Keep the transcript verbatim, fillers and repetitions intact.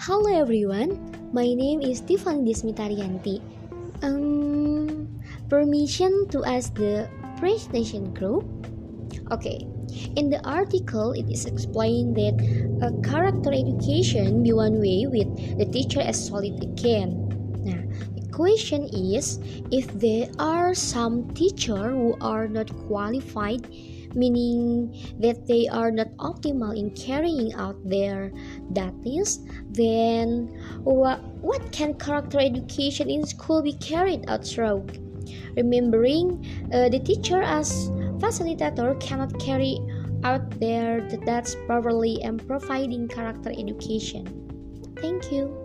Hello everyone, my name is Tiffany Dismitarianti. Um, permission to ask the presentation group? Okay, in the article it is explained that a character education be one way with the teacher as solid again. Now, the question is if there are some teacher who are not qualified, meaning that they are not optimal in carrying out their duties, then what, what can character education in school be carried out through? Remembering uh, the teacher as facilitator cannot carry out their tasks properly and providing character education. Thank you.